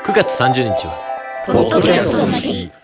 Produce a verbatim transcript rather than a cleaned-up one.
くがつさんじゅうにちはポッドキャストの日。